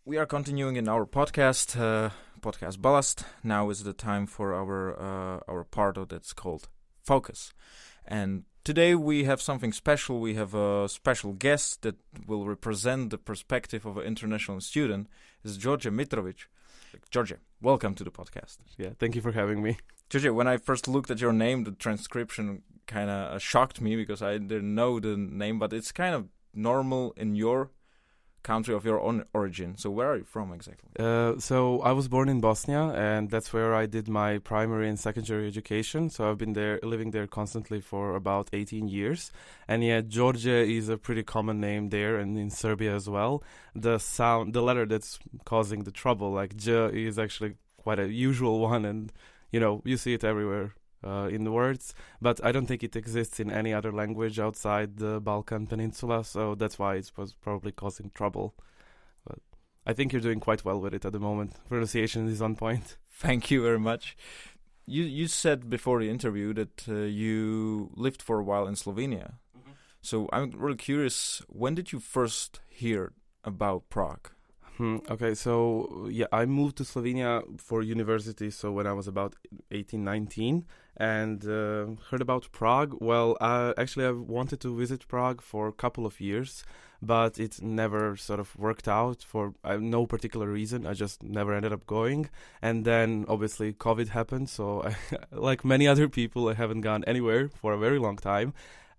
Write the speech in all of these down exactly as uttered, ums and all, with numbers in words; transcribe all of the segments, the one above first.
We are continuing in our podcast, uh, podcast Ballast. Now is the time for our uh, our part of that's called Focus. And today we have something special. We have a special guest that will represent the perspective of an international student. It's George Mitrovic. George, welcome to the podcast. Yeah, thank you for having me. George, when I first looked at your name, the transcription kind of shocked me because I didn't know the name, but it's kind of normal in your country of your own origin. So where are you from exactly? Uh, so I was born in Bosnia, and that's where I did my primary and secondary education. So I've been there, living there constantly for about eighteen years. And yeah, Georgia is a pretty common name there, and in Serbia as well. The sound, the letter that's causing the trouble, like J, is actually quite a usual one, and you know you see it everywhere. Uh, in the words, but I don't think it exists in any other language outside the Balkan Peninsula, so that's why it was probably causing trouble. But I think you're doing quite well with it at the moment. Pronunciation is on point. Thank you very much. You you said before the interview that uh, you lived for a while in Slovenia. Mm-hmm. So I'm really curious, when did you first hear about Prague? Hmm, okay, so yeah, I moved to Slovenia for university, so when I was about eighteen, nineteen, and uh, heard about Prague. Well, uh, actually I wanted to visit Prague for a couple of years, but it never sort of worked out for uh, no particular reason. I just never ended up going. And then obviously COVID happened, so I, like many other people, I haven't gone anywhere for a very long time.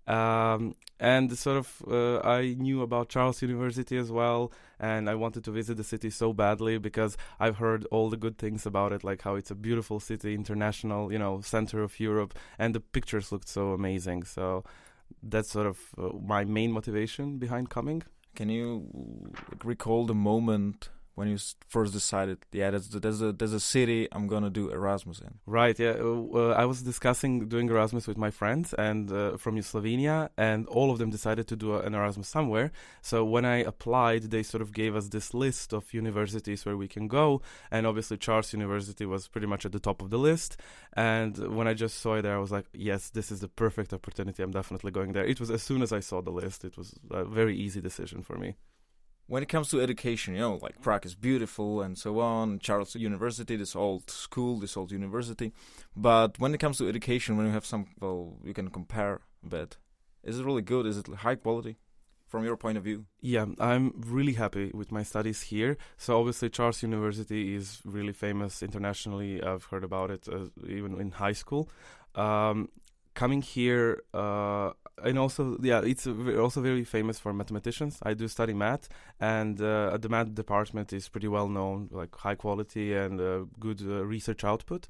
Um, and sort of uh, I knew about Charles University as well, and I wanted to visit the city so badly because I've heard all the good things about it, like how it's a beautiful city, international, you know, center of Europe, and the pictures looked so amazing. So that's sort of uh, my main motivation behind coming. Can you recall the moment when you first decided, yeah, there's, there's, a, there's a city I'm going to do Erasmus in? Right, yeah. Uh, I was discussing doing Erasmus with my friends and uh, from Slovenia, and all of them decided to do an Erasmus somewhere. So when I applied, they sort of gave us this list of universities where we can go, and obviously Charles University was pretty much at the top of the list. And when I just saw it there, I was like, yes, this is the perfect opportunity. I'm definitely going there. It was as soon as I saw the list, it was a very easy decision for me. When it comes to education, you know, like Prague is beautiful and so on, Charles University, this old school, this old university. But when it comes to education, when you have some, well, you can compare a bit. Is it really good? Is it high quality from your point of view? Yeah, I'm really happy with my studies here. So obviously Charles University is really famous internationally. I've heard about it uh, even in high school. Um, coming here... Uh, And also, yeah, it's also very famous for mathematicians. I do study math, and uh, the math department is pretty well known, like high quality and uh, good uh, research output.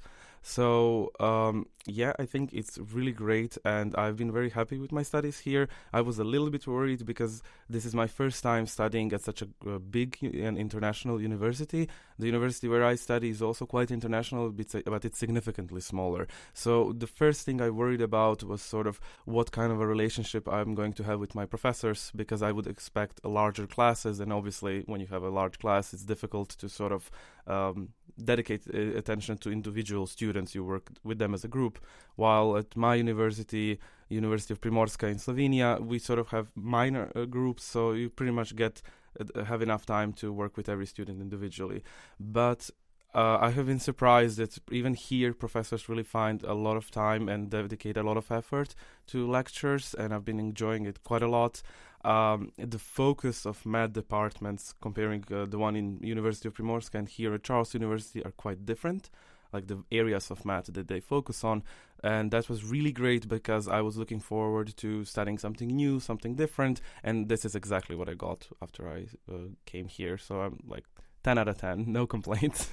So, um, yeah, I think it's really great, and I've been very happy with my studies here. I was a little bit worried because this is my first time studying at such a uh, big and international university. The university where I study is also quite international, but it's significantly smaller. So the first thing I worried about was sort of what kind of a relationship I'm going to have with my professors, because I would expect larger classes, and obviously when you have a large class, it's difficult to sort of um, dedicate uh, attention to individual students. You work with them as a group, while at my university, University of Primorska in Slovenia, we sort of have minor uh, groups, so you pretty much get uh, have enough time to work with every student individually. But Uh, I have been surprised that even here professors really find a lot of time and dedicate a lot of effort to lectures, and I've been enjoying it quite a lot. Um, the focus of math departments, comparing uh, the one in University of Primorska and here at Charles University, are quite different, like the areas of math that they focus on. And that was really great because I was looking forward to studying something new, something different, and this is exactly what I got after I uh, came here. So I'm like ten out of ten, no complaints.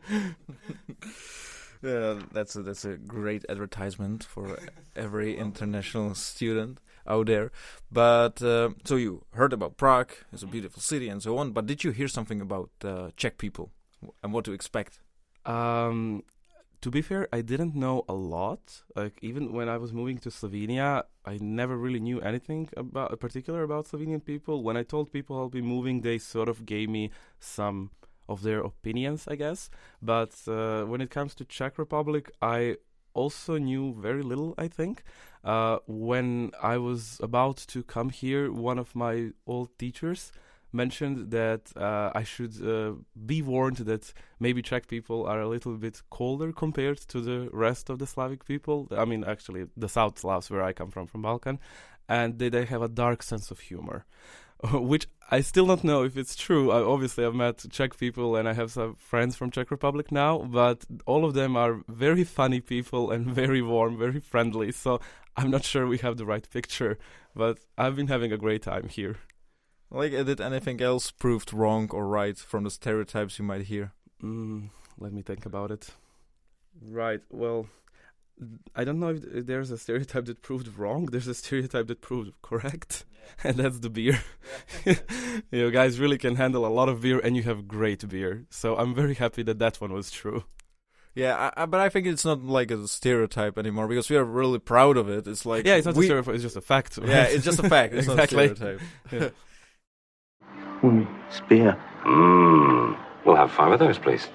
Yeah, that's a, that's a great advertisement for every international student out there. But uh, so you heard about Prague, it's a beautiful city and so on, but did you hear something about uh, Czech people and what to expect? Um, to be fair, I didn't know a lot. Like, even when I was moving to Slovenia, I never really knew anything about particular about Slovenian people. When I told people I'll be moving, they sort of gave me some of their opinions, I guess. But uh, when it comes to Czech Republic, I also knew very little, I think. Uh, when I was about to come here, one of my old teachers mentioned that uh, I should uh, be warned that maybe Czech people are a little bit colder compared to the rest of the Slavic people. I mean, actually, the South Slavs, where I come from, from Balkan, and they, they have a dark sense of humor, which I still don't know if it's true. I, obviously, I've met Czech people and I have some friends from Czech Republic now, but all of them are very funny people and very warm, very friendly. So I'm not sure we have the right picture, but I've been having a great time here. Like, did anything else proved wrong or right from the stereotypes you might hear? Mm, let me think about it. Right, well, I don't know if there's a stereotype that proved wrong. There's a stereotype that proved correct, yeah. And that's the beer. Yeah. You guys really can handle a lot of beer, and you have great beer. So I'm very happy that that one was true. Yeah, I, I, but I think it's not like a stereotype anymore because we are really proud of it. It's like yeah, it's not we, a stereotype; it's just a fact. Right? Yeah, it's just a fact. It's exactly. not a stereotype. Yeah. Mm, it's beer. Mmm. We'll have five of those, please.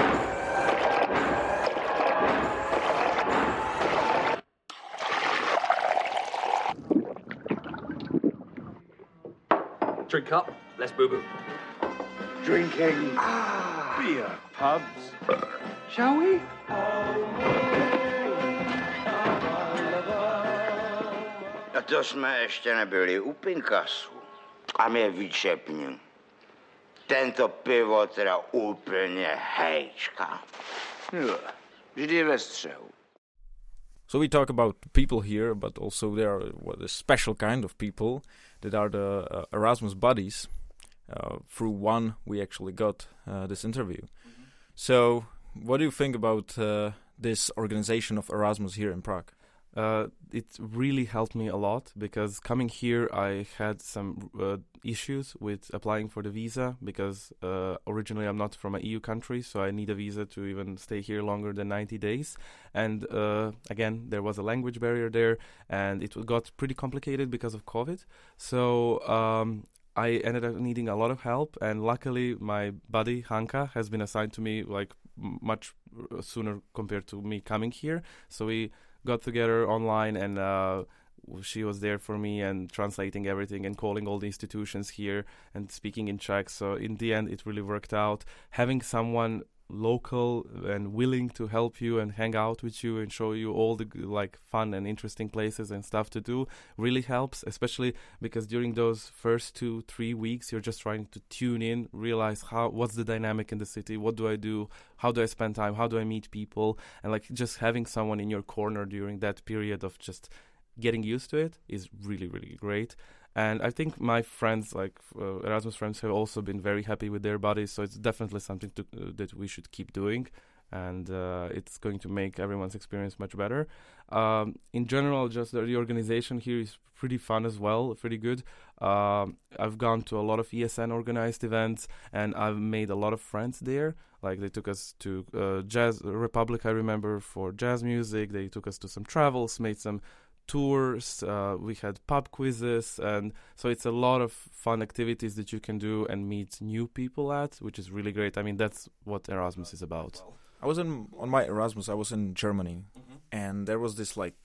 Drink up. Let's boo-boo. Drinking ah. beer pubs. Shall we? A to jsme ještě nebyli u Pinkasu. A mě vyčepním. Tento pivo teda úplně hejčka. Jo, vždy ve střehu. So we talk about people here, but also there are what, a special kind of people that are the uh, Erasmus buddies. Uh, through one, we actually got uh, this interview. Mm-hmm. So, what do you think about uh, this organization of Erasmus here in Prague? Uh, it really helped me a lot because coming here, I had some uh, issues with applying for the visa because uh, originally I'm not from an E U country, so I need a visa to even stay here longer than ninety days. And uh, again, there was a language barrier there, and it got pretty complicated because of COVID. So um, I ended up needing a lot of help, and luckily my buddy Hanka has been assigned to me like m- much sooner compared to me coming here. So we got together online, and uh, she was there for me and translating everything and calling all the institutions here and speaking in Czech. So in the end, it really worked out. Having someone local and willing to help you and hang out with you and show you all the like fun and interesting places and stuff to do really helps, especially because during those first two three weeks you're just trying to tune in, realize how what's the dynamic in the city, what do I do, how do I spend time, how do I meet people, and like just having someone in your corner during that period of just getting used to it is really really great. And I think my friends, like uh, Erasmus friends, have also been very happy with their buddies. So it's definitely something to, uh, that we should keep doing. And uh, it's going to make everyone's experience much better. Um, in general, just the, the organization here is pretty fun as well, pretty good. Um, I've gone to a lot of E S N organized events, and I've made a lot of friends there. Like they took us to uh, Jazz Republic, I remember, for jazz music. They took us to some travels, made some tours, uh, we had pub quizzes, and so it's a lot of fun activities that you can do and meet new people at, which is really great. I mean, that's what Erasmus is about. I was in on my Erasmus, I was in Germany, mm-hmm. and there was this like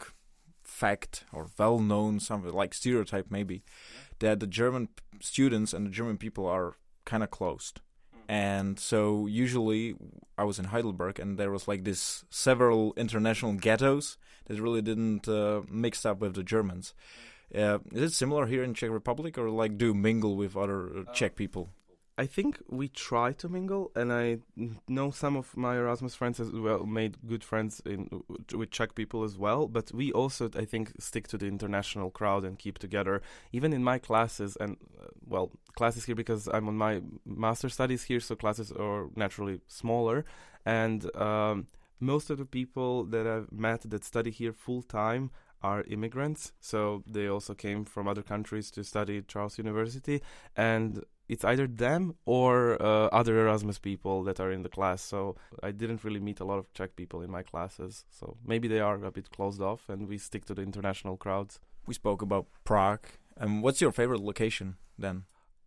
fact or well-known something like stereotype maybe yeah. that the German p- students and the German people are kind of closed. And so usually I was in Heidelberg, and there was like this several international ghettos that really didn't uh, mix up with the Germans. Uh, is it similar here in Czech Republic, or like do you mingle with other uh, Czech people? I think we try to mingle, and I know some of my Erasmus friends as well made good friends in with Czech people as well. But we also, I think, stick to the international crowd and keep together. Even in my classes, and uh, well, classes here because I'm on my master studies here, so classes are naturally smaller. And um, most of the people that I've met that study here full time are immigrants, so they also came from other countries to study at Charles University, and it's either them or uh, other Erasmus people that are in the class. So I didn't really meet a lot of Czech people in my classes. So maybe they are a bit closed off, and we stick to the international crowds. We spoke about Prague. Um, what's your favorite location then?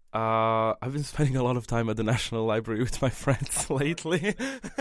Uh, I've been spending a lot of time at the National Library with my friends lately.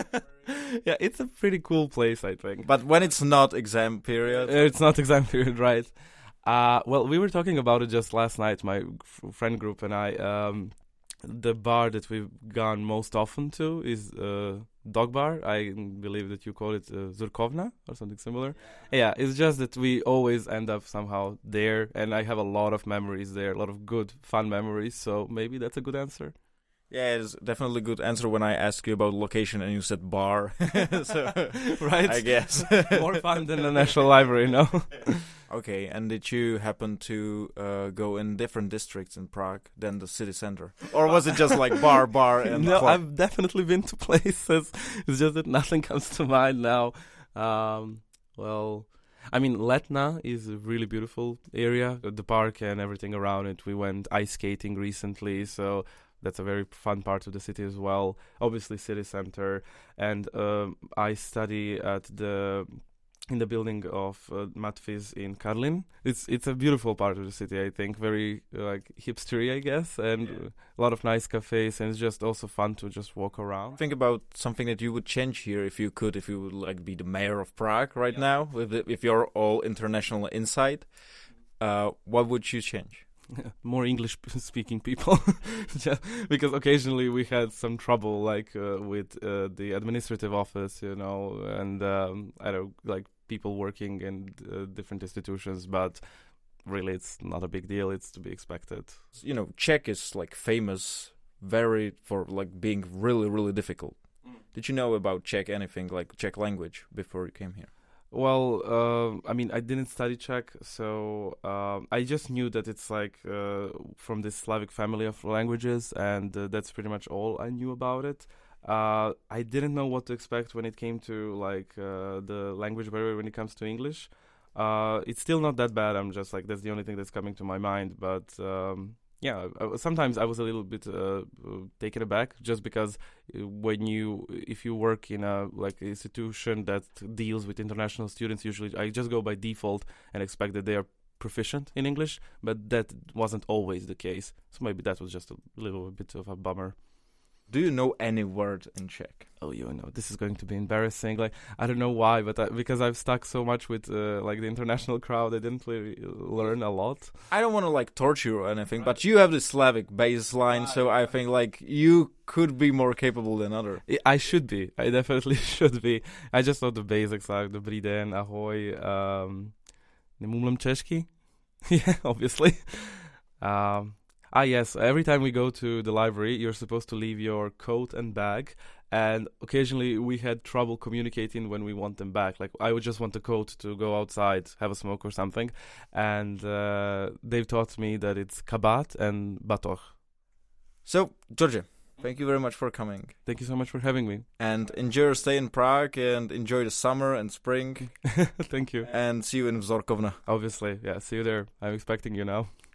Yeah, it's a pretty cool place, I think. But when it's not exam period? It's not exam period, right. Uh, well, we were talking about it just last night, my f- friend group and I. Um, the bar that we've gone most often to is uh, Dog Bar. I believe that you call it uh, Zurkovna or something similar. Yeah. yeah, it's just that we always end up somehow there, and I have a lot of memories there, a lot of good, fun memories, so maybe that's a good answer. Yeah, it's definitely a good answer when I asked you about location and you said bar. So, right? I guess. More fun than the National Library, no? Okay, and did you happen to uh, go in different districts in Prague than the city center? Or was it just like bar, bar, and No, club? I've definitely been to places. It's just that nothing comes to mind now. Um, well, I mean, Letna is a really beautiful area. The park and everything around it. We went ice skating recently, so that's a very fun part of the city as well. Obviously, city center. And um, I study at the in the building of uh, Matfiz in Karlin. It's it's a beautiful part of the city, I think. Very uh, like hipstery, I guess, and yeah. a lot of nice cafes, and it's just also fun to just walk around. Think about something that you would change here if you could, if you would like be the mayor of Prague right yeah. now, with the, if you're all international inside. Uh, what would you change? More English-speaking people, just because occasionally we had some trouble, like uh, with uh, the administrative office, you know, and um, I don't like people working in uh, different institutions, but really, it's not a big deal. It's to be expected. You know, Czech is like famous, very for like being really, really difficult. Mm. Did you know about Czech anything like Czech language before you came here? Well, uh, I mean, I didn't study Czech, so uh, I just knew that it's like uh, from this Slavic family of languages, and uh, that's pretty much all I knew about it. Uh, I didn't know what to expect when it came to like uh, the language barrier when it comes to English. Uh, it's still not that bad. I'm just like, that's the only thing that's coming to my mind, but um, yeah, I, sometimes I was a little bit uh, taken aback, just because when you, if you work in a like institution that deals with international students, usually I just go by default and expect that they are proficient in English, but that wasn't always the case. So maybe that was just a little bit of a bummer. Do you know any word in Czech? Oh, you know, this is going to be embarrassing. Like, I don't know why, but I, because I've stuck so much with uh, like the international crowd, I didn't really learn a lot. I don't want to like torture you or anything, right. But you have the Slavic baseline, right. So I think like you could be more capable than others. I should be. I definitely should be. I just know the basics like dobrý den, ahoj, um, nemůmlím česky. Yeah, obviously. Um, Ah, yes. Every time we go to the library, you're supposed to leave your coat and bag. And occasionally we had trouble communicating when we want them back. Like, I would just want the coat to go outside, have a smoke or something. And uh, they've taught me that it's kabat and batoh. So, George, thank you very much for coming. Thank you so much for having me. And enjoy your stay in Prague and enjoy the summer and spring. Thank you. And see you in Vzorkovna. Obviously. Yeah, see you there. I'm expecting you now.